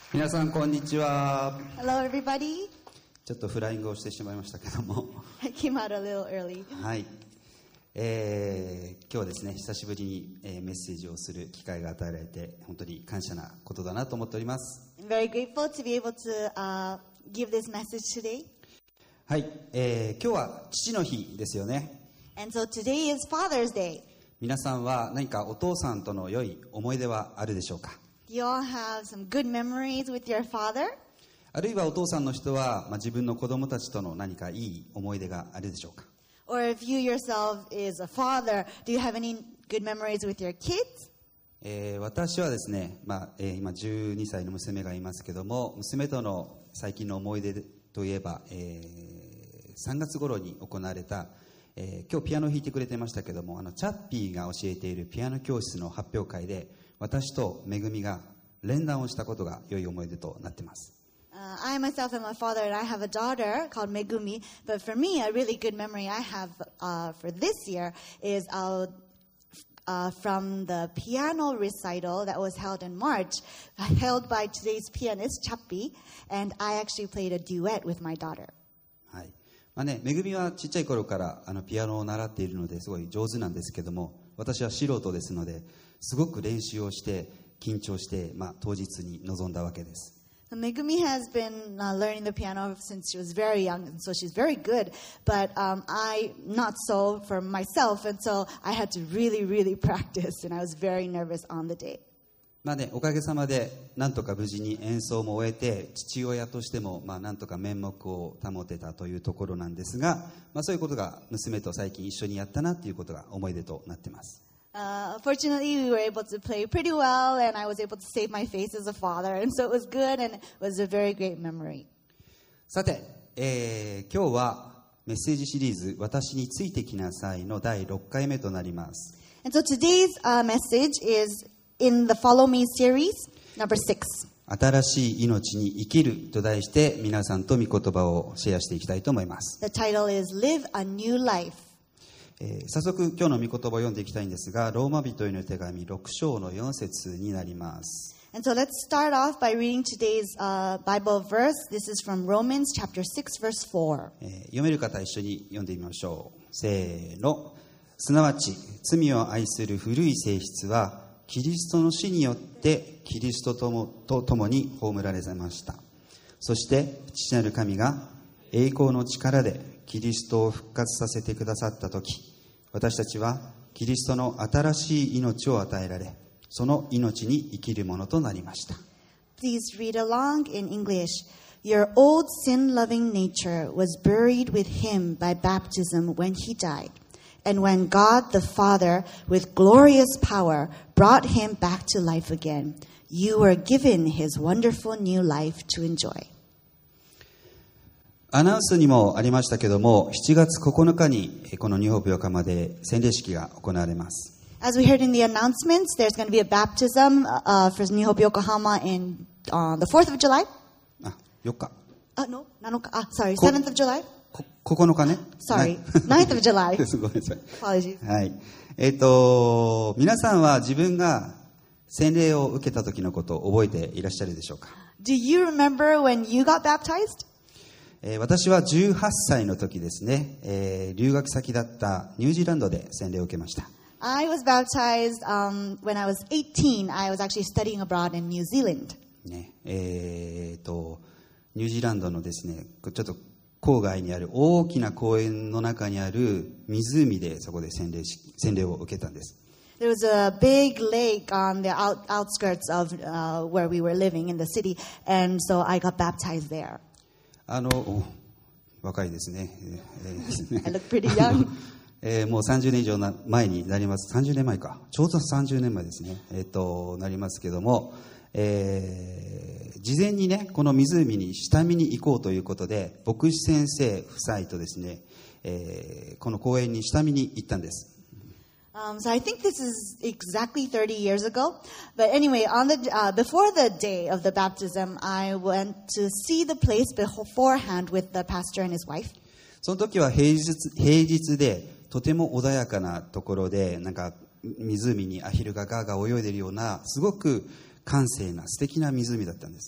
皆さんこんにちは。 Hello, everybody. ちょっとフライングをしてしまいましたけども I came out a little early. はい、今日はですね、久しぶりに、メッセージをする機会が与えられて本当に感謝なことだなと思っております。 I'm very grateful to be able to give this message today. はい、今日は父の日ですよね。 And so today is Father's Day. 皆さんは何かお父さんとの良い思い出はあるでしょうか。 You all have some good memories with your father. あるいはお父さんの人は、自分の子供たちとの何かいい思い出があるでしょうか。 Or if you yourself is a father, do you have any good memories with your kids? 私はですね、今12歳の娘がいますけども、娘との最近の思い出といえば、3月頃に行われた、今日ピアノを弾いてくれてましたけども、チャッピーが教えているピアノ教室の発表会で私とめぐみが連弾をしたことが良い思い出となっています。 I myself am a father and I have a daughter called Megumi. But for me, a really good memory I have for this year is from the piano recital that was held in March, held by today's pianist, Chappi, and I actually played a duet with my daughter. はい。めぐみはちっちゃい頃からピアノを習っているのですごい上手なんですけども、私は素人ですのですごく練習をして緊張して、当日に臨んだわけです。 Megumi has been learning the piano since she was very young, and so she's very good. But I, not so for myself, and so I had to really, really practice, and I was very nervous on the day. おかげさまでなんとか無事に演奏も終えて、父親としてもなんとか面目を保てたというところなんですが、そういうことが娘と最近一緒にやったなということが思い出となっています。 Fortunately, we were able to play pretty well, and I was able to save my face as a father, and so it was good, and it was a very great memory. さて、今日はメッセージシリーズ「私についてきなさい」の第6回目となります。 And so today's message is in the Follow Me series, number 6. 新しい命に生きると題して皆さんと御言葉をシェアしていきたいと思います。 The title is Live a New Life. 早速今日の御言葉を読んでいきたいんですが、ローマ人への手紙6章の4節になります。 And so let's start off by reading today's Bible verse. This is from Romans chapter 6, verse 4. 読める方一緒に読んでみましょう。せーの。すなわち罪を愛する古い性質はキリストの死によってキリストと共に葬られました。そして父なる神が栄光の力でキリストを復活させてくださったとき、私たちはキリストの新しい命を与えられ、その命に生きるものとなりました。 Please read along in English. Your old sin-loving nature was buried with him by baptism when he died. And when God the Father, with glorious power, brought him back to life again, you were given his wonderful new life to enjoy. アナウンスにもありましたけども、7月9日にこのニューホープ横浜で洗礼式が行われます。 As we heard in the announcements, there's going to be a baptism for New Hope Yokohama on the 4th of July. 4日。 No, 7日. Sorry, 7th of July. 9日ね。 Sorry, 9th of July. ごめんなさい。 Apologies. はい。皆さんは自分が洗礼を受けた時のことを覚えていらっしゃるでしょうか。 Do you remember when you got baptized? 私は18歳の時ですね、留学先だったニュージーランドで洗礼を受けました。 I was baptized when I was 18. I was actually studying abroad in New Zealand. ね、ニュージーランドのですね、ちょっと郊外にある大きな公園の中にある湖でそこで洗礼を受けたんです。 There was a big lake on the outskirts of where we were living in the city, and so I got baptized there. 若いですね。 I look pretty young. もう30年以上前になります。30年前か。ちょうど30年前ですね。なりますけども、事前にね、この湖に下見に行こうということで、牧師先生夫妻とですね、この公園に下見に行ったんです。 So I think this is exactly 30 years ago. But anyway, before the day of the baptism, I went to see the place beforehand with the pastor and his wife. その時は平日でとても穏やかなところで、なんか湖にアヒルがガーガー泳いでいるようなすごく閑静な素敵な湖だったんです。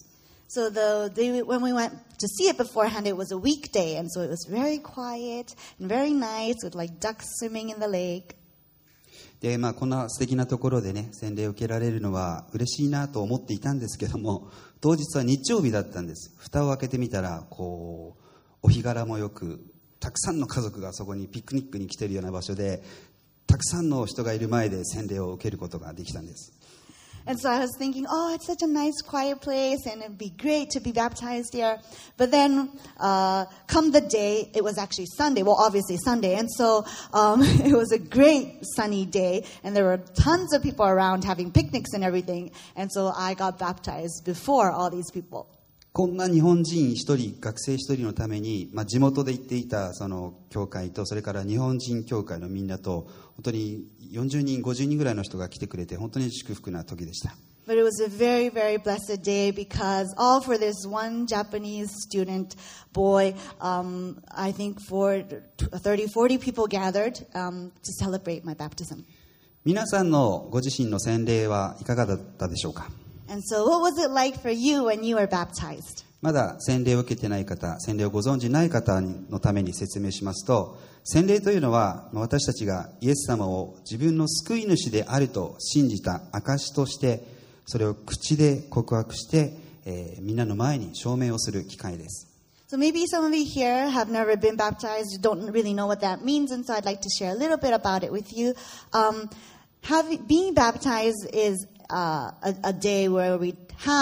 So when we went to see it beforehand, it was a weekday, and so it was very quiet and very nice with like ducks swimming in the lake. でこんな素敵なところでね洗礼を受けられるのは嬉しいなと思っていたんですけども、当日は日曜日だったんです。蓋を開けてみたらお日柄もよく、たくさんの家族がそこにピクニックに来ているような場所で、たくさんの人がいる前で洗礼を受けることができたんです。 And so I was thinking, oh, it's such a nice, quiet place, and it'd be great to be baptized here. But then, come the day, it was actually Sunday. Well, obviously Sunday. And so it was a great sunny day, and there were tons of people around having picnics and everything. And so I got baptized before all these people. こんな日本人一人、学生一人のために、地元で行っていたその教会と、それから日本人教会のみんなと、本当に40人、50人ぐらいの人が来てくれて、本当に祝福な時でした。 But it was a very, very blessed day because all for this one Japanese student boy, I think for 30, 40 people gathered to celebrate my baptism. 皆さんのご自身の洗礼はいかがだったでしょうか。 And so what was it like for you when you were baptized? まだ洗礼を受けていない方、洗礼をご存じない方のために説明しますと、洗礼というのは私たちがイエス様を自分の救い主であると信じた証として、それを口で告白して、みんなの前に証明をする機会です。 So maybe some of you here have never been baptized, you don't really know what that means, and so I'd like to share a little bit about it with you. Being baptized is a day where we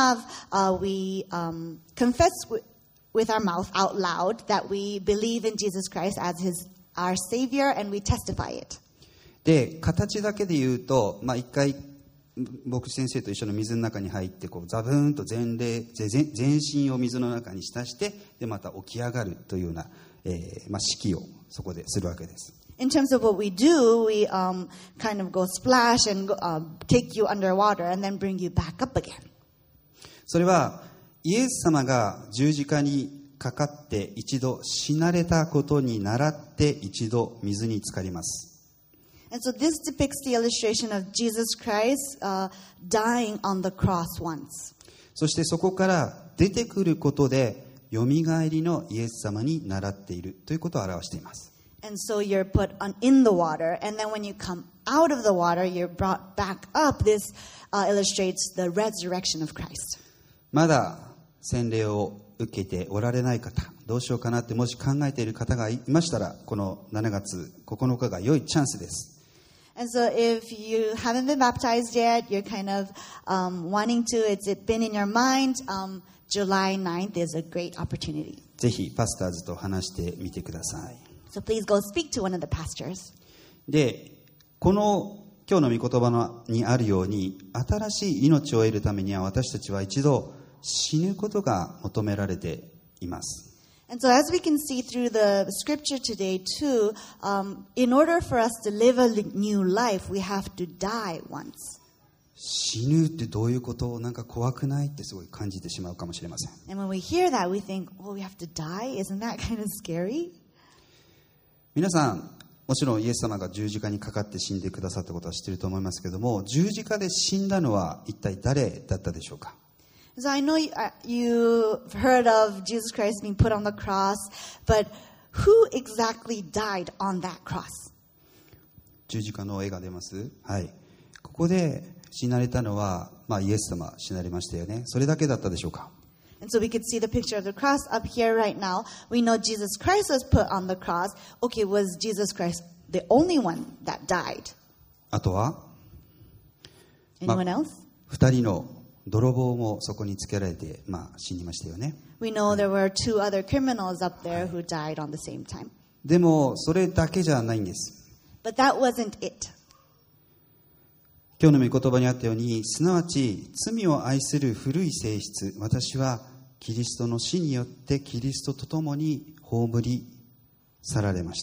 confess with our mouth out loud that we believe in Jesus Christ as our Savior, and we testify it. で、形だけで言うと、一回牧師先生と一緒の水の中に入ってザブーンと全身を水の中に浸して、でまた起き上がるというような、式をそこでするわけです。 In terms of what we do, we kind of go splash and take you underwater and then bring you back up again. それはイエス様が十字架にかかって一度死なれたことに倣って一度水に浸かります。 And so this depicts the illustration of Jesus Christ dying on the cross once. そしてそこから出てくることでよみがえりのイエス様に倣っているということを表しています。 And so you're put in the water, and then when you come out of the water, you're brought back up. This illustrates the resurrection of Christ. まだ洗礼を受けておられない方、どうしようかなってもし考えている方がいましたら、この7月9日が良いチャンスです。 And so if you haven't been baptized yet, you're kind of wanting to, it's been in your mind, July 9th is a great opportunity. ぜひパスターズと話してみてください。 So please go speak to one of the pastors. で、この今日の御言葉にあるように、新しい命を得るためには私たちは一度死ぬことが求められています。 And so as we can see through the scripture today too, in order for us to live a new life, we have to die once. 死ぬってどういうこと？なんか怖くないってすごい感じてしまうかもしれません。 And when we hear that, we think, oh, we have to die? Isn't that kind of scary? 皆さん、もちろんイエス様が十字架にかかって死んでくださったことは知っていると思いますけども、十字架で死んだのは一体誰だったでしょうか？ So I know you've heard of Jesus Christ being put on the cross, but who exactly died on that cross? 十字架の絵が出ます。はい。ここで死なれたのは、イエス様死なれましたよね。それだけだったでしょうか？ And so we could see the picture of the cross up here right now. We know Jesus Christ was put on the cross. Okay, was Jesus Christ the only one that died? あとは Anyone else? 2人の泥棒もそこにつけられて、死にましたよね。 We know there were 2 other criminals up there who died on the same time. でもそれだけじゃないんです。 But that wasn't it. 今日の御言葉にあったように、すなわち罪を愛する古い性質、私はキリストの死によってキリストと共に葬り去られました。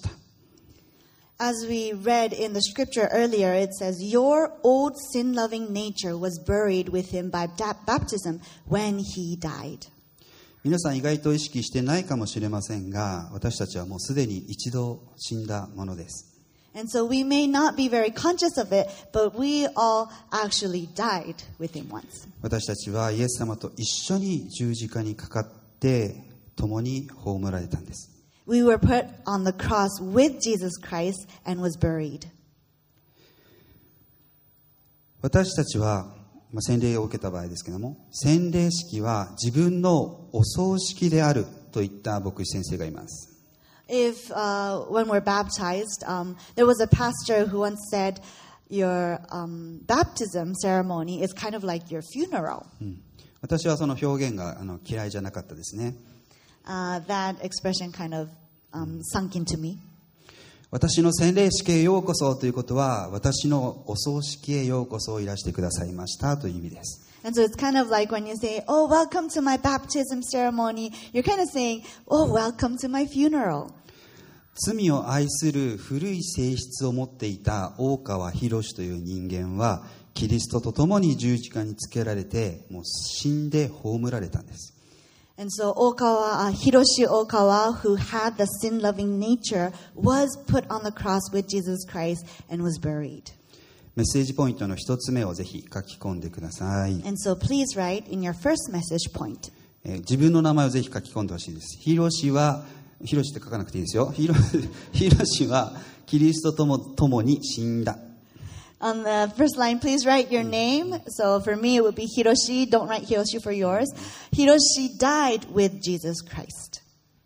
As we read in the scripture earlier, it says, your old sin-loving nature was buried with him by baptism when he died. 皆さん意外と意識してないかもしれませんが、私たちはもうすでに一度死んだものです。 And so we may not be very conscious of it, but we all actually died with him once. 私たちはイエス様と一緒に十字架にかかって共に葬られたんです。 We were put on the cross with Jesus Christ and was buried. 私たちは、洗礼を受けた場合ですけども、洗礼式は自分のお葬式であるといった牧師先生がいます。 If when we're baptized, there was a pastor who once said, your baptism ceremony is kind of like your funeral. 私はその表現が嫌いじゃなかったですね。 That expression kind of sunk into me. 私の洗礼式へようこそということは、私のお葬式へようこそいらしてくださいましたという意味です。 And so it's kind of like when you say, oh, welcome to my baptism ceremony, you're kind of saying, oh, welcome to my funeral. 罪を愛する古い性質を持っていた大川博という人間は、キリストと共に十字架につけられて、もう死んで葬られたんです。 And so Hiroshi Okawa, who had the sin-loving nature, was put on the cross with Jesus Christ and was buried. メッセージポイントの一つ目をぜひ書き込んでください。 And so please write in your first message point. 自分の名前をぜひ書き込んでほしいです。ヒロシって書かなくていいですよ。ヒロシはキリストとも共に死んだ。 On the first line, please write your name. So for me, it would be Hiroshi. Don't write Hiroshi for yours. Hiroshi died with Jesus Christ.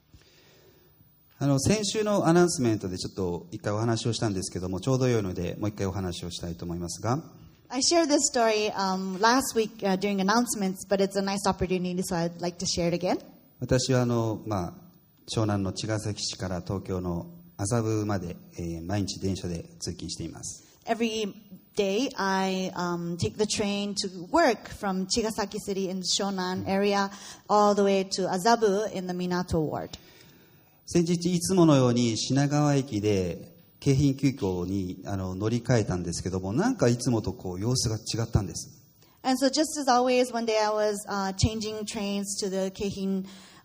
先週のアナウンスメントでちょっと一回お話をしたんですけども、ちょうど良いのでもう一回お話をしたいと思いますが、 I shared this story last week during announcements, but it's a nice opportunity, so I'd like to share it again. 私は湘南の茅ヶ崎市から東京の麻布まで、毎日電車で通勤しています。 Every day, I take the train to work from Chigasaki City in the Shonan area all the way to Azabu in the Minato ward. 先日いつものように品川駅で京浜急行に乗り換えたんですけども、なんかいつもと様子が違ったんです。 And so just as always, one day I was changing trains to the Keihin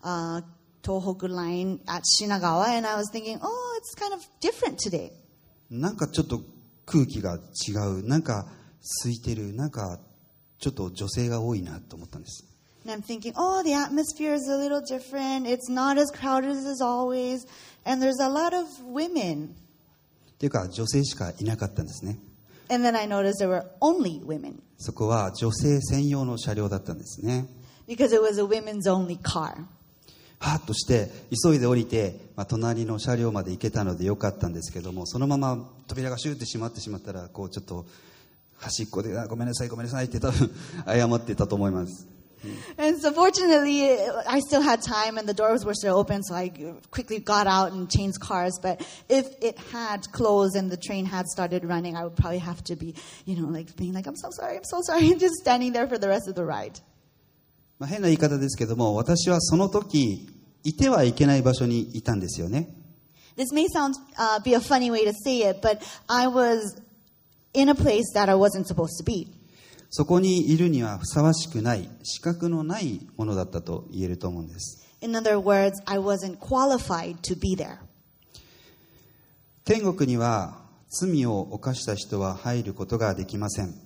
Tohoku line at Shinagawa, and I was thinking, oh, it's kind of different today. なんかちょっと空気が違う、なんか空いてる、なんかちょっと女性が多いなと思ったんです。 And I'm thinking, oh, the atmosphere is a little different. It's not as crowded as always. And there's a lot of women. っていうか、女性しかいなかったんですね。 And then I noticed there were only women. そこは女性専用の車両だったんですね。 Because it was a women's only car. はっとして急いで降りて、隣の車両まで行けたのでよかったんですけども、そのまま扉がシューって閉まってしまったら、ちょっと端っこでごめんなさいって多分謝ってたと思います。 And so fortunately, I still had time and the doors were still open, so I quickly got out and changed cars. But if it had closed and the train had started running, I would probably have to be, being like, I'm so sorry, and just standing there for the rest of the ride. 変な言い方ですけども、私はその時いてはいけない場所にいたんですよね。 This may be a funny way to say it, but I was in a place that I wasn't supposed to be. そこにいるにはふさわしくない、資格のないものだったと言えると思うんです。 In other words, I wasn't qualified to be there. 天国には罪を犯した人は入ることができません。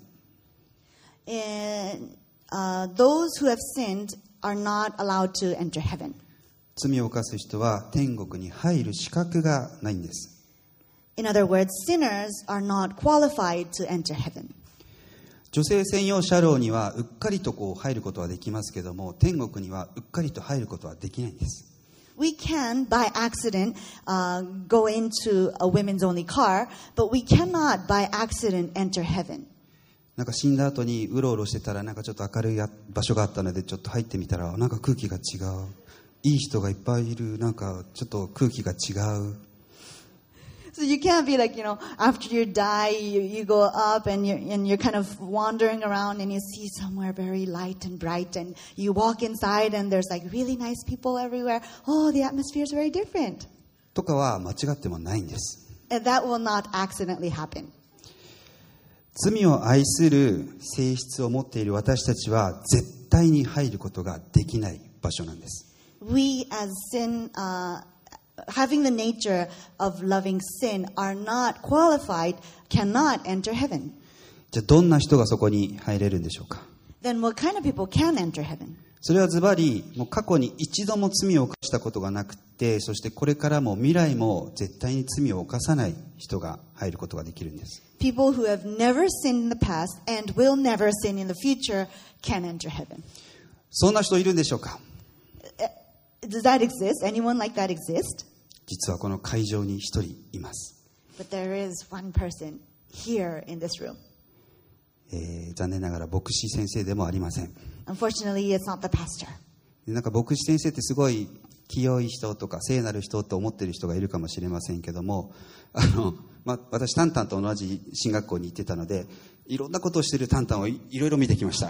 Those who have sinned are not allowed to enter heaven. 罪を犯す人は天国に入る資格がないんです。 In other words, sinners are not qualified to enter heaven. 女性専用車両にはうっかりと入ることはできますけども、天国にはうっかりと入ることはできないんです。 We can, by accident, go into a women's only car, but we cannot, by accident, enter heaven. なんか死んだ後にうろうろしてたら、なんかちょっと明るい場所があったのでちょっと入ってみたら、なんか空気が違う。いい人がいっぱいいる。なんかちょっと空気が違う。 So you can't be like, after you die, you go up and you're kind of wandering around and you see somewhere very light and bright and you walk inside and there's like really nice people everywhere. Oh, the atmosphere is very different. とかは間違ってもないんです。 And that will not accidentally happen. 罪を愛する性質を持っている私たちは絶対に入ることができない場所なんです。 We as having the nature of loving sin are not qualified, cannot enter heaven. じゃあどんな人がそこに入れるんでしょうか。 Then what kind of people can enter heaven? それはズバリもう過去に一度も罪を犯したことがなくて、そしてこれからも未来も絶対に罪を犯さない人が入ることができるんです。 People who have never sinned in the past and will never sin in the future can enter heaven. そんな人いるんでしょうか。 Does that exist? Anyone like that exist? 実はこの会場に一人います。 But there is one person here in this room. 残念ながら牧師先生でもありません。 Unfortunately, it's not the pastor. なんか牧師先生ってすごい清い人とか聖なる人と思っている人がいるかもしれませんけども、私タンタンと同じ進学校に行ってたので、いろんなことをしているタンタンをいろいろ見てきました。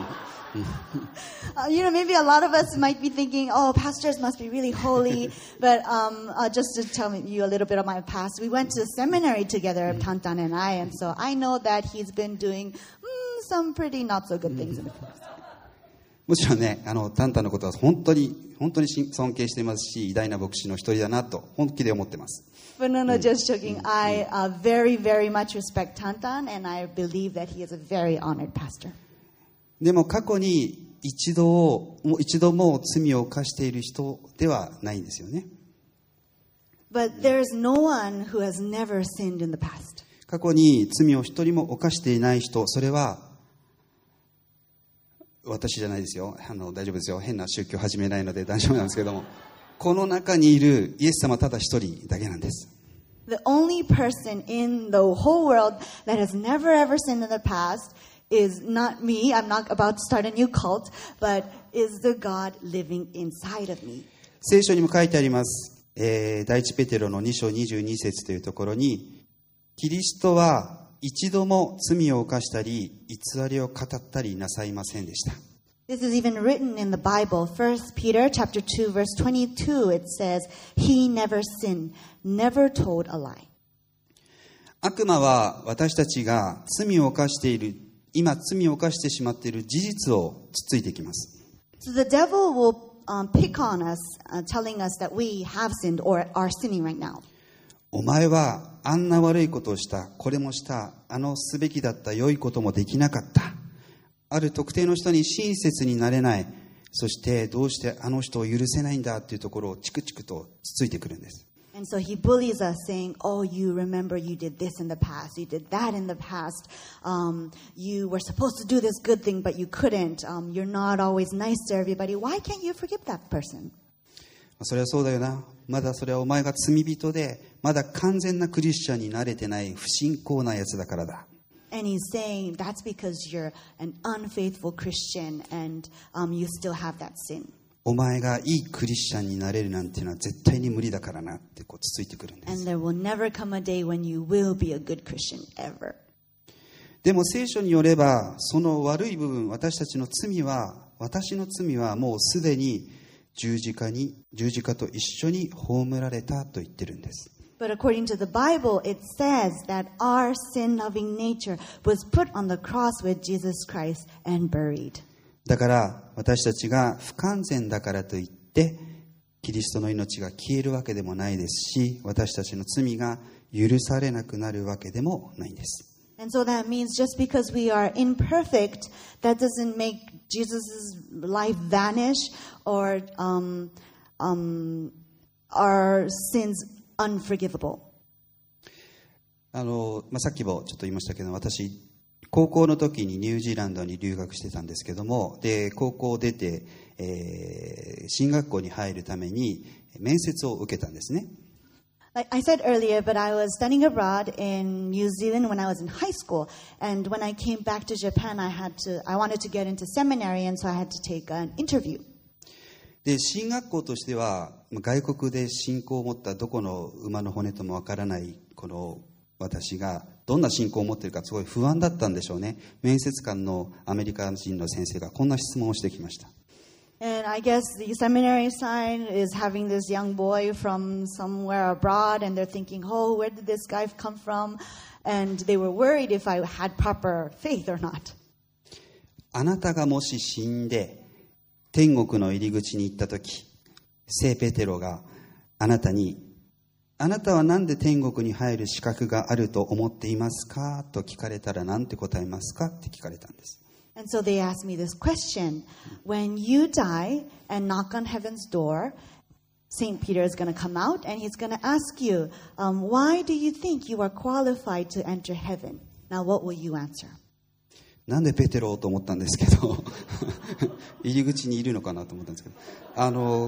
Maybe a lot of us might be thinking, oh, pastors must be really holy. But just to tell you a little bit of my past, we went to seminary together, Tantan and I, and so I know that he's been doing some pretty not so good things in the past. もちろんね、タンタンのことは本当に尊敬していますし、偉大な牧師の一人だなと本気で思ってます。 But no, just joking. I very, very much respect Tantan, and I believe that he is a very honored pastor. でも過去に一度も罪を犯している人ではないんですよね。 But there is no one who has never sinned in the past. 過去に罪を一人も犯していない人、それは私じゃないですよ。大丈夫ですよ。変な宗教始めないので大丈夫なんですけども、この中にいるイエス様ただ一人だけなんです。 The only person in the whole world that has never ever sinned in the past is not me. I'm not about to start a new cult, but is the God living inside of me. 聖書にも書いてあります。第一ペテロの2章22節というところに、キリストは一度も罪を犯したり偽りを語ったりなさいませんでした。 This is even written in the Bible. 1 Peter chapter 2 verse 22, it says, He never sinned, never told a lie. 悪魔は私たちが罪を犯している、今罪を犯してしまっている事実をつついてきます。 So the devil will pick on us, telling us that we have sinned or are sinning right now. お前はあんな悪いことをした、これもした、すべきだった良いこともできなかった。ある特定の人に親切になれない。そしてどうしてあの人を許せないんだというところをチクチクとつついてくるんです。 And so he bullies us, saying, oh, you remember you did this in the past, you did that in the past, you were supposed to do this good thing, but you couldn't, you're not always nice to everybody. Why can't you forgive that person? それはそうだよな。まだそれはお前が罪人で、まだ完全なクリスチャンになれてない不信仰なやつだからだ。 And he's saying that's because you're an unfaithful Christian and you still have that sin. お前がいいクリスチャンになれるなんていうのは絶対に無理だからなってこうつついてくるんです。 And there will never come a day when you will be a good Christian ever. でも聖書によれば、その悪い部分、私の罪はもうすでに十字架と一緒に葬られたと言ってるんです。 But according to the Bible, it says that our sin-loving nature was put on the cross with Jesus Christ and buried. だから私たちが不完全だからといってキリストの命が消えるわけでもないですし、私たちの罪が許されなくなるわけでもないんです。 And so that means just because we are imperfect, that doesn't make Jesus' life vanish or our sins unforgivable. さっきもちょっと言いましたけど、私高校の時にニュージーランドに留学してたんですけども、で高校を出て、進学校に入るために面接を受けたんですね。 Like I said earlier, but I was studying abroad in New Zealand when I was in high school, and when I came back to Japan, I wanted to get into seminary, and so I had to take an interview. で進学校としては外国で信仰を持ったどこの馬の骨ともわからないこの私がどんな信仰を持っているかすごい不安だったんでしょうね。面接官のアメリカ人の先生がこんな質問をしてきました。 And I guess the seminary side is having this young boy from somewhere abroad, and they're thinking, oh, where did this guy come from? And they were worried if I had proper faith or not. あなたがもし死んで天国の入り口に行ったとき、聖ペテロがあなたに、あなたは何で天国に入る資格があると思っていますかと聞かれたら何て答えますかって聞かれたんです。 And so they asked me this question. When you die and knock on heaven's door, St. Peter is going to come out and he's going to ask you, why do you think you are qualified to enter heaven? Now, what will you answer? なんでペテロと思ったんですけど入り口にいるのかなと思ったんですけど、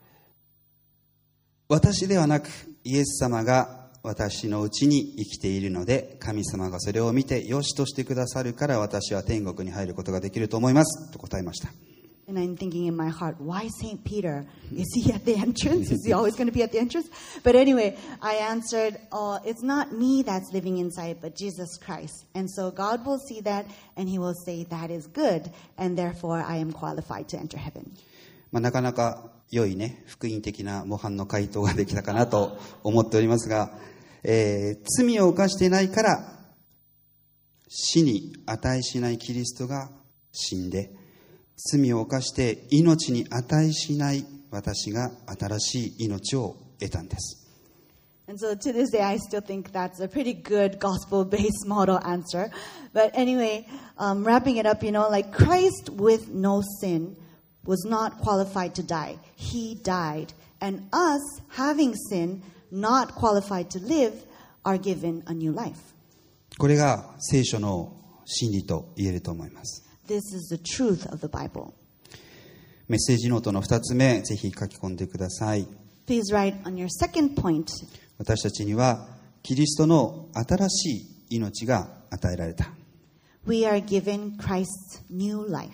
私ではなくイエス様が私のうちに生きているので、神様がそれを見て良しとしてくださるから私は天国に入ることができると思いますと答えました。 And I'm thinking in my heart, why St. Peter? Is he at the entrance? Is he always going to be at the entrance? But anyway, I answered, it's not me that's living inside, but Jesus Christ. And so God will see that, and he will say, that is good, and therefore I am qualified to enter heaven. なかなか良いね、福音的な模範の回答ができたかなと思っておりますが、罪を犯していないから死に値しないキリストが死んで、罪を犯して命に値しない私が新しい命を得たんです。 And so to this day, I still think that's a pretty good gospel-based model answer. But anyway, wrapping it up, like Christ with no sin was not qualified to die. He died. And us, having sin, not qualified to live, are given a new life. これが聖書の真理と言えると思います。 This is the truth of the Bible. メッセージノートの2つ目、ぜひ書き込んでください。 Please write on your second point. 私たちにはキリストの新しい命が与えられた。 We are given Christ's new life.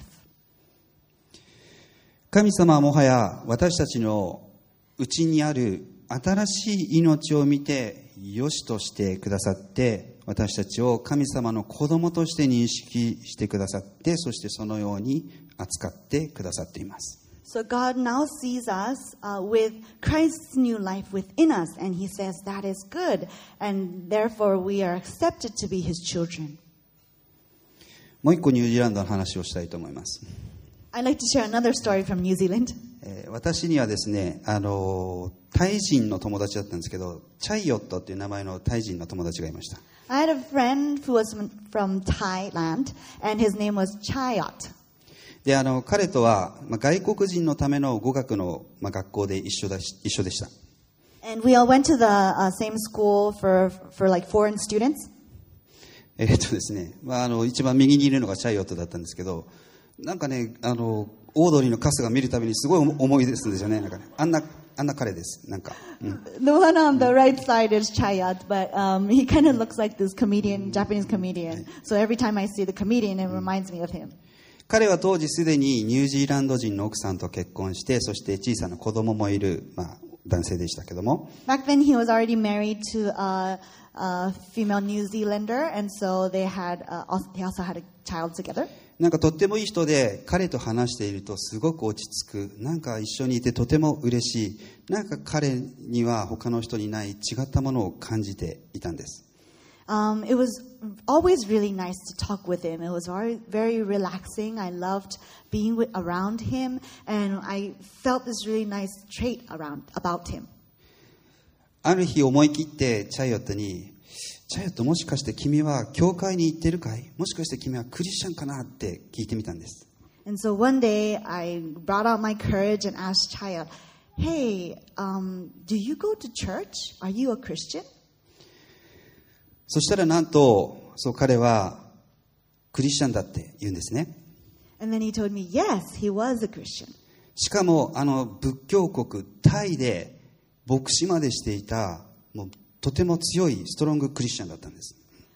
神様はもはや私たちのうちにある新しい命を見て良しとしてくださって、私たちを神様の子供として認識してくださって、そしてそのように扱ってくださっています。 So God now sees us with Christ's new life within us, and He says that is good, and therefore we are accepted to be His children. もう一個ニュージーランドの話をしたいと思います。 I'd like to share another story from New Zealand. 私にはですね、タイ人の友達だったんですけど、チャイヨットっていう名前のタイ人の友達がいました。 I had a friend who was from Thailand, and his name was Chayot. で、彼とは、外国人のための語学の、学校で一緒でした。 And we all went to the same school for like foreign students. ですね、一番右にいるのがチャイヨットだったんですけど、なんかね、オードリーの春日見るたびにすごい思い出すんですよね。なんかね、あんな彼です。なんか。 The one on the right side is Chayat, but he kind of looks like this comedian, Japanese comedian. So every time I see the comedian, it reminds me of him. 彼は当時すでにニュージーランド人の奥さんと結婚して、そして小さな子供もいる、男性でしたけども。 Back then he was already married to a female New Zealander, and so they also had a child together. なんかとってもいい人で、彼と話しているとすごく落ち着く。なんか一緒にいてとても嬉しい。なんか彼には他の人にない違ったものを感じていたんです。 It was always really nice to talk with him. It was very relaxing. I loved being around him, and I felt this really nice trait about him. ある日思い切ってチャイヨットに、チャイヨット、もしかして君は教会に行ってるかい？もしかして君はクリスチャンかなって聞いてみたんです。 And so one day I brought out my courage and asked Chayot, "Hey, do you go to church? Are you a Christian?" そしたらなんと、彼はクリスチャンだって言うんですね。 And then he told me, yes, he was a Christian. しかも仏教国タイで牧師までしていた、もうとても強いストロングクリスチャンだったんです。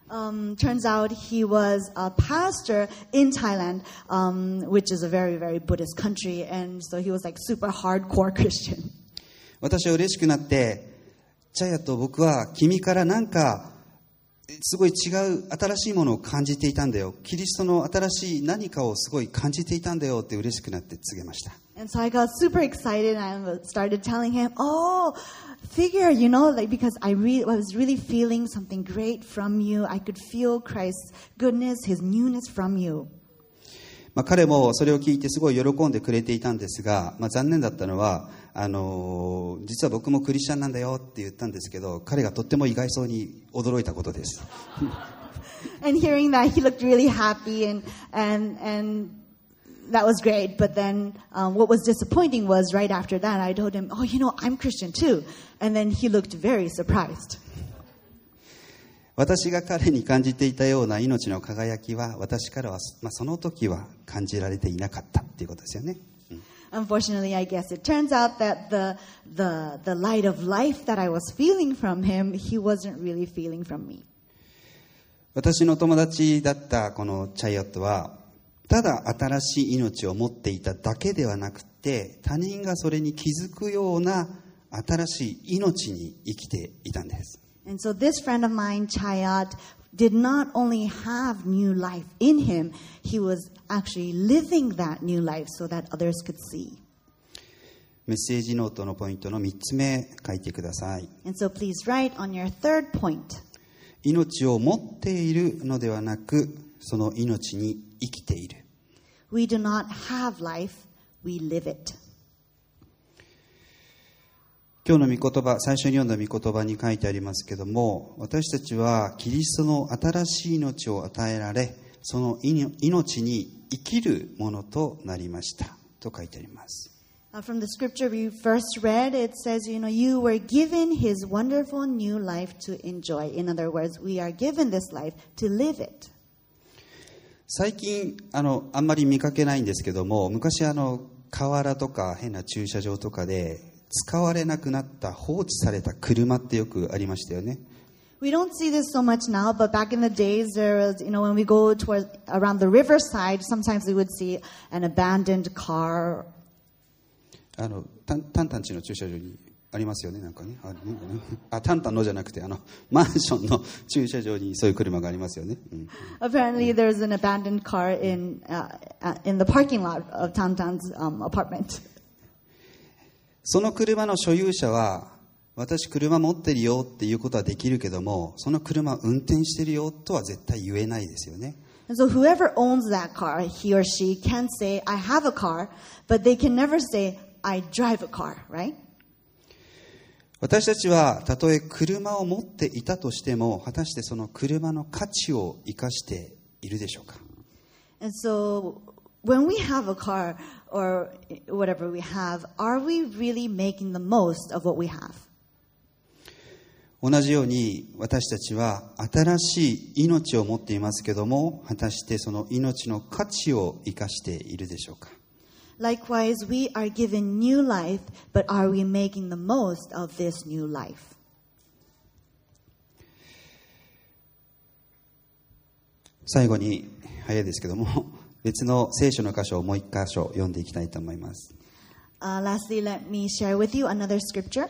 Turns out he was a pastor in Thailand, which is a very, very Buddhist country, and so he was like super hardcore Christian. 私は嬉しくなって、チャヤと僕は君からなんかすごい違う新しいものを感じていたんだよ。キリストの新しい何かをすごい感じていたんだよって嬉しくなって告げました。 And so I got super excited and I started telling him, figure, like because I was really feeling something great from you. I could feel Christ's goodness, His newness from you. 彼もそれを聞いてすごい喜んでくれていたんですが、残念だったのは実は僕もクリスチャンなんだよって言ったんですけど、彼がとっても意外そうに驚いたことです。 And hearing that, he looked really happy, and that was great. But then what was disappointing was right after that, I told him, "Oh, I'm Christian too." And then he looked very surprised. 私が彼に感じていたような命の輝きは、私からは、その時は感じられていなかったっていうことですよね。 Unfortunately, I guess it turns out that the light of life that I was feeling from him, he wasn't really feeling from me. 私の友達だったこのチャイオットは、ただ新しい命を持っていただけではなくて、他人がそれに気づくような新しい命に生きていたんです。 And so this friend of mine, Chayat, did not only have new life in him, he was actually living that new life so that others could see. メッセージノートのポイントの3つ目書いてください。 And so please write on your third point. 命を持っているのではなく、その命に生きている。 We do not have life, we live it. 今日の御言葉、最初に読んだ御言葉に書いてありますけども、私たちはキリストの新しい命を与えられ、その命に生きるものとなりましたと書いてあります。 From the scripture we first read, it says, you were given his wonderful new life to enjoy. In other words, we are given this life to live it. 最近あんまり見かけないんですけども、昔河原とか変な駐車場とかで使われなくなった放置された車ってよくありましたよね。 We don't see this so much now, but back in the days, there was, when we go toward around the riverside, sometimes we would see an abandoned car. タンタン地の駐車場にありますよね、なんかね。タンタンのじゃなくて、マンションの駐車場にそういう車がありますよね。 Apparently, there's an abandoned car in the parking lot of Tantan's apartment. その車の所有者は、私車持ってるよっていうことはできるけども、その車運転してるよとは絶対言えないですよね。 And so whoever owns that car, he or she can say, I have a car, but they can never say, I drive a car, right? 私たちはたとえ車を持っていたとしても、果たしてその車の価値を生かしているでしょうか。 And so when we have a car or whatever we have, are we really making the most of what we have? 同じように私たちは新しい命を持っていますけども、果たしてその命の価値を生かしているでしょうか。 Likewise, we are given new life, but are we making the most of this new life? 最後に早いですけども、別の聖書の箇所をもう一箇所読んでいきたいと思います。 Lastly, let me share with you another scripture.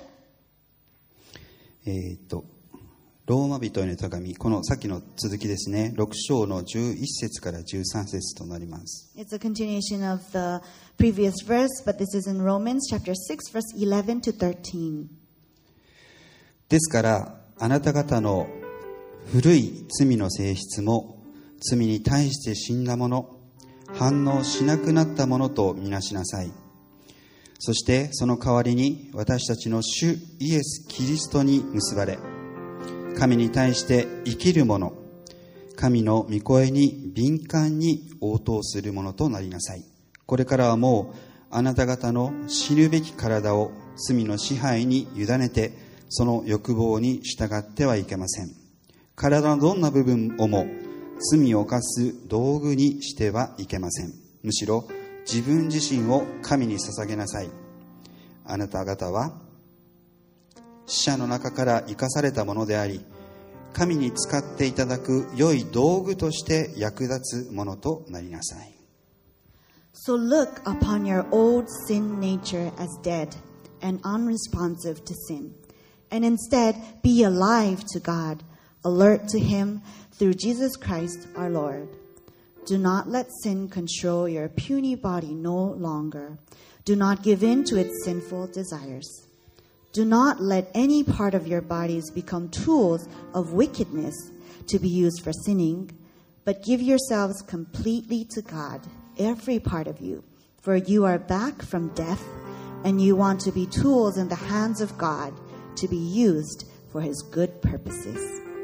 ローマ人への手紙、このさっきの続きですね、6章の11節から13節となります。 It's a continuation of the previous verse, but this is in Romans chapter 6, verse 11 to 13. ですから、あなた方の古い罪の性質も、罪に対して死んだもの、反応しなくなったものとみなしなさい。そしてその代わりに私たちの主イエス・キリストに結ばれ、神に対して生きるもの、神の御声に敏感に応答するものとなりなさい。これからはもうあなた方の死ぬべき体を罪の支配に委ねて、その欲望に従ってはいけません。体のどんな部分をも罪を犯す道具にしてはいけません。むしろ自分自身を神に捧げなさい。あなた方は死者の中から生かされたものであり、神に使っていただく良い道具として役立つものとなりなさい。 So look upon your old sin nature as dead and unresponsive to sin, and instead be alive to God, alert to Him through Jesus Christ our Lord. Do not let sin control your puny body no longer. Do not give in to its sinful desires. Do not let any part of your bodies become tools of wickedness to be used for sinning, but give yourselves completely to God every part of you, for you are back from death, and you want to be tools in the hands of God to be used for His good purposes.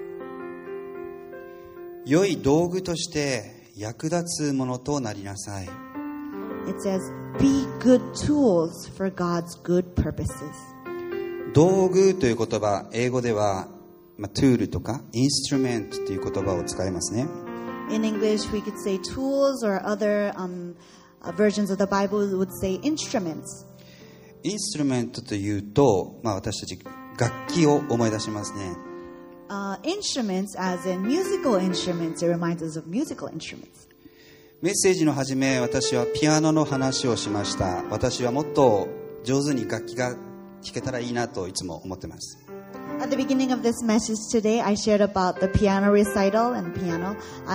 良い道具として役立つものとなりなさい。 It says, be good tools for God's good purposes. 道具という言葉、英語では、トゥールとかインストゥルメントという言葉を使いますね。 In English, we could say tools, or other versions of the Bible would say instruments. インストゥルメントというと、私たち楽器を思い出しますね。 Instruments, as in musical instruments, it reminds us of musical instruments. メッセージの始め、私はピアノの話をしました。私はもっと上手に楽器が弾けたらいいなといつも思ってます。 At the beginning of this message today, I shared about the piano recital and piano.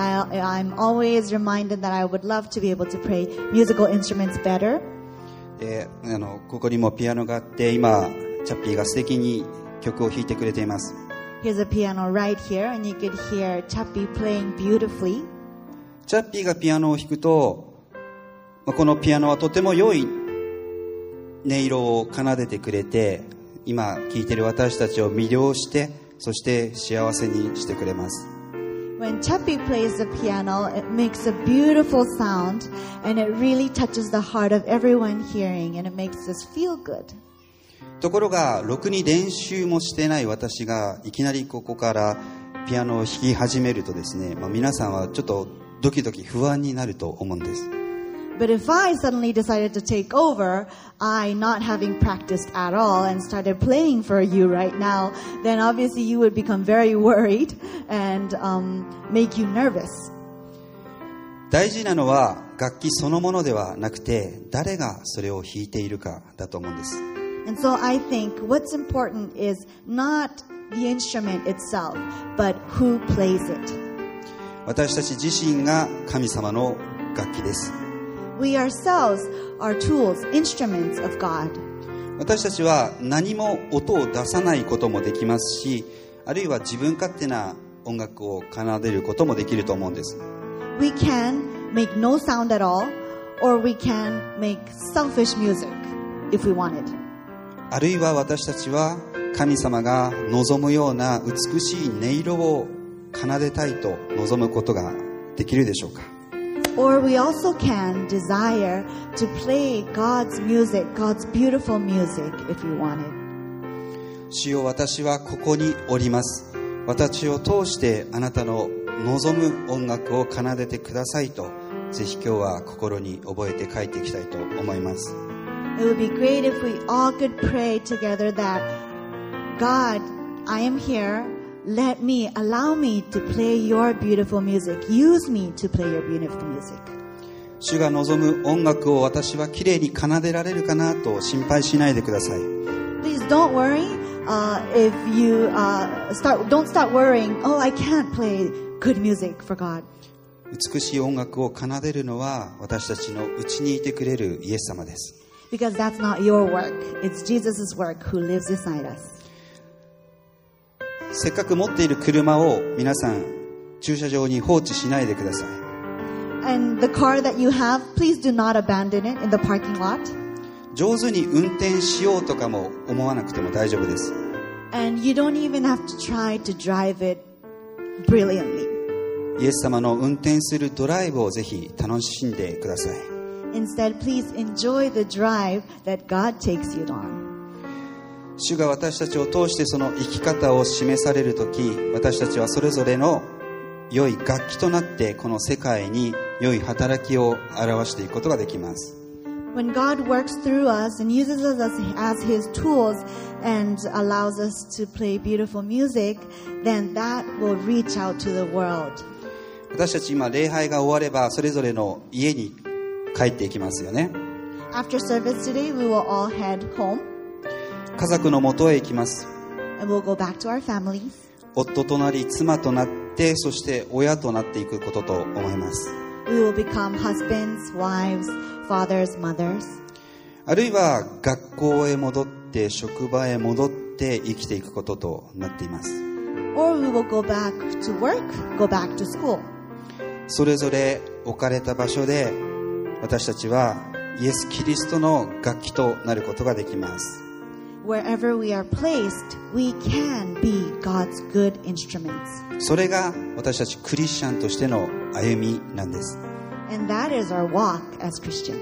I'm always reminded that I would love to be able to play musical instruments better. ここにもピアノがあって、今チャッピーが素敵に曲を弾いてくれています。 Here's a piano right here, and you could hear Chappie playing beautifully. チャッピーがピアノを弾くと、このピアノはとても良い音色を奏でてくれて、今聴いている私たちを魅了して、そして幸せにしてくれます。 When Chappie plays the piano, it makes a beautiful sound, and it really touches the heart of everyone hearing, and it makes us feel good. ところが、ろくに練習もしてない私がいきなりここからピアノを弾き始めるとですね、皆さんはちょっとドキドキ不安になると思うんです。 But if I suddenly decided to take over, I not having practiced at all and started playing for you right now, then obviously you would become very worried and make you nervous. 大事なのは楽器そのものではなくて、誰がそれを弾いているかだと思うんです。 And so I think what's important is not the instrument itself, but who plays it. 私たち自身が神様の楽器です。 We ourselves are tools, instruments of God. 私たちは何も音を出さないこともできますし、あるいは自分勝手な音楽を奏でることもできると思うんです。 We can make no sound at all, or we can make selfish music if we wanted. あるいは私たちは神様が望むような美しい音色を奏でたいと望むことができるでしょうか。 Or we also can desire to play God's music, God's beautiful music, if we wanted. 主よ、私はここにおります。私を通してあなたの望む音楽を奏でてくださいと、ぜひ今日は心に覚えて帰っていきたいと思います。 It would be great if we all could pray together that God, I am here. Let me, allow me to play your beautiful music. Use me to play your beautiful music. 主が望む音楽を私はきれいに奏でられるかなと心配しないでください。 Please don't worry if you don't start worrying, oh, I can't play good music for God. 美しい音楽を奏でるのは私たちのうちにいてくれるイエス様です。 Because that's not your work. It's Jesus' work who lives inside us. せっかく持っている車を皆さん駐車場に放置しないでください。 And the car that you have, please do not abandon it in the parking lot. 上手に運転しようとかも思わなくても大丈夫です。 And you don't even have to try to drive it brilliantly. イエス様の運転するドライブをぜひ楽しんでください。 Instead, please enjoy the drive that God takes you on. 主が私たちを通してその生き方を示されるとき、私たちはそれぞれの良い楽器となってこの世界に良い働きを表していくことができます。 When God works through us and uses us as His tools and allows us to play beautiful music, then that will reach out to the world. 私たち今礼拝が終わればそれぞれの家に帰っていきますよね。 After service today, we will all head home. 家族の元へ行きます。 And we'll go back to our families. 夫となり妻となって、そして親となっていくことと思います。 We will become husbands, wives, fathers, mothers. あるいは学校へ戻って職場へ戻って生きていくこととなっています。 Or we will go back to work, go back to school. それぞれ置かれた場所で私たちはイエス・キリストの楽器となることができます。 Wherever we are placed, we can be God's good instruments. それが私たちクリスチャンとしての歩みなんです。 And that is our walk as Christians.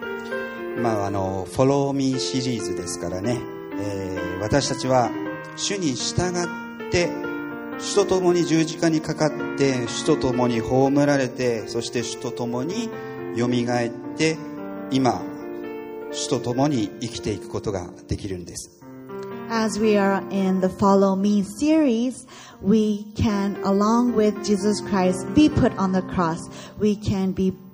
Follow Me シリーズですからね、私たちは主に従って主と共に十字架にかかって主と共に葬られて、そして主と共によみがえって今主と共に生きていくことができるんです。 As we are in the Follow Me series, we can, along with Jesus Christ, be put on the cross. We can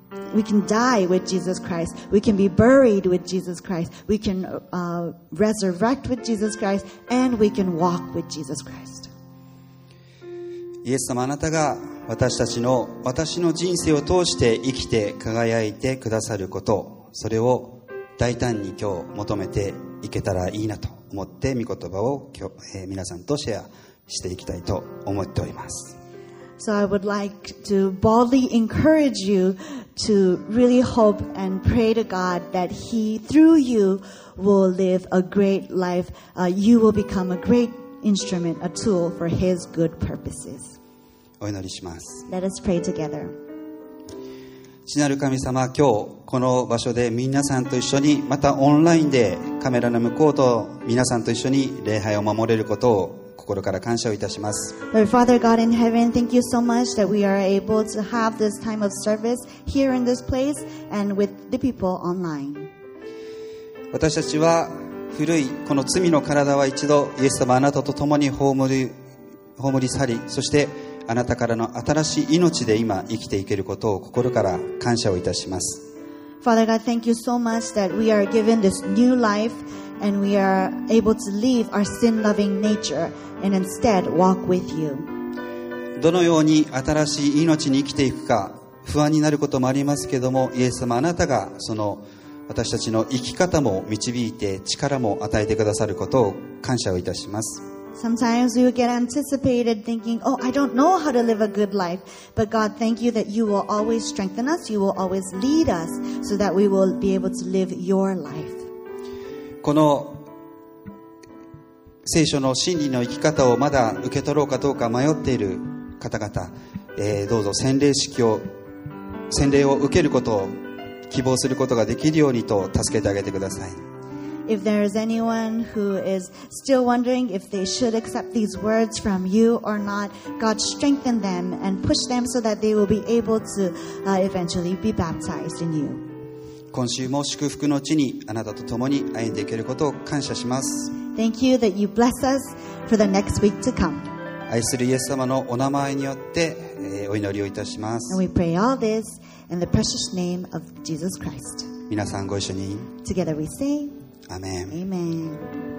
die with Jesus Christ. We can be buried with Jesus Christ. We can resurrect with Jesus Christ, and we can walk with Jesus Christ. イエス様、あなたが私の人生を通して生きて輝いてくださること、それを大胆に今日求めていけたらいいなと思って御言葉を今日、皆さんとシェアしていきたいと思っております。 So I would like to boldly encourage you to really hope and pray to God that He, through you, will live a great life. You will become a great instrument, a tool for His good purposes. お祈りします。 Let us pray together. 父なる神様、今日この場所で皆さんと一緒に、またオンラインでカメラの向こうと皆さんと一緒に礼拝を守れることを心から感謝をいたします。 Lord Father God in heaven, thank you so much that we are able to have this time of service here in this place and with the people online. 私たちは古いこの罪の体は一度イエス様あなたと共に葬り去り、そしてあなたからの新しい命で今生きていけることを心から感謝をいたします。 Father God, thank you so much that we are given this new life and we are able to leave our sin-loving nature and instead walk with you. どのように新しい命に生きていくか不安になることもありますけども、イエス様あなたがその私たちの生き方も導いて力も与えてくださることを感謝をいたします。 Sometimes we would get anticipated thinking, oh, I don't know how to live a good life. But God, thank you that you will always strengthen us. You will always lead us so that we will be able to live your life. この聖書の真理の生き方をまだ受け取ろうかどうか迷っている方々、どうぞ洗礼を受けることを希望することができるようにと助けてあげてください。 If there is anyone who is still wondering if they should accept these words from you or not, God strengthen them and push them so that they will be able to eventually be baptized in you. 今週も祝福の地にあなたと共に歩んでいけることを感謝します。 Thank you that you bless us for the next week to come. 愛するイエス様のお名前によって、お祈りをいたします。 And we pray all this in the precious name of Jesus Christ. 皆さんご一緒に Together we say, アメン。 Amen.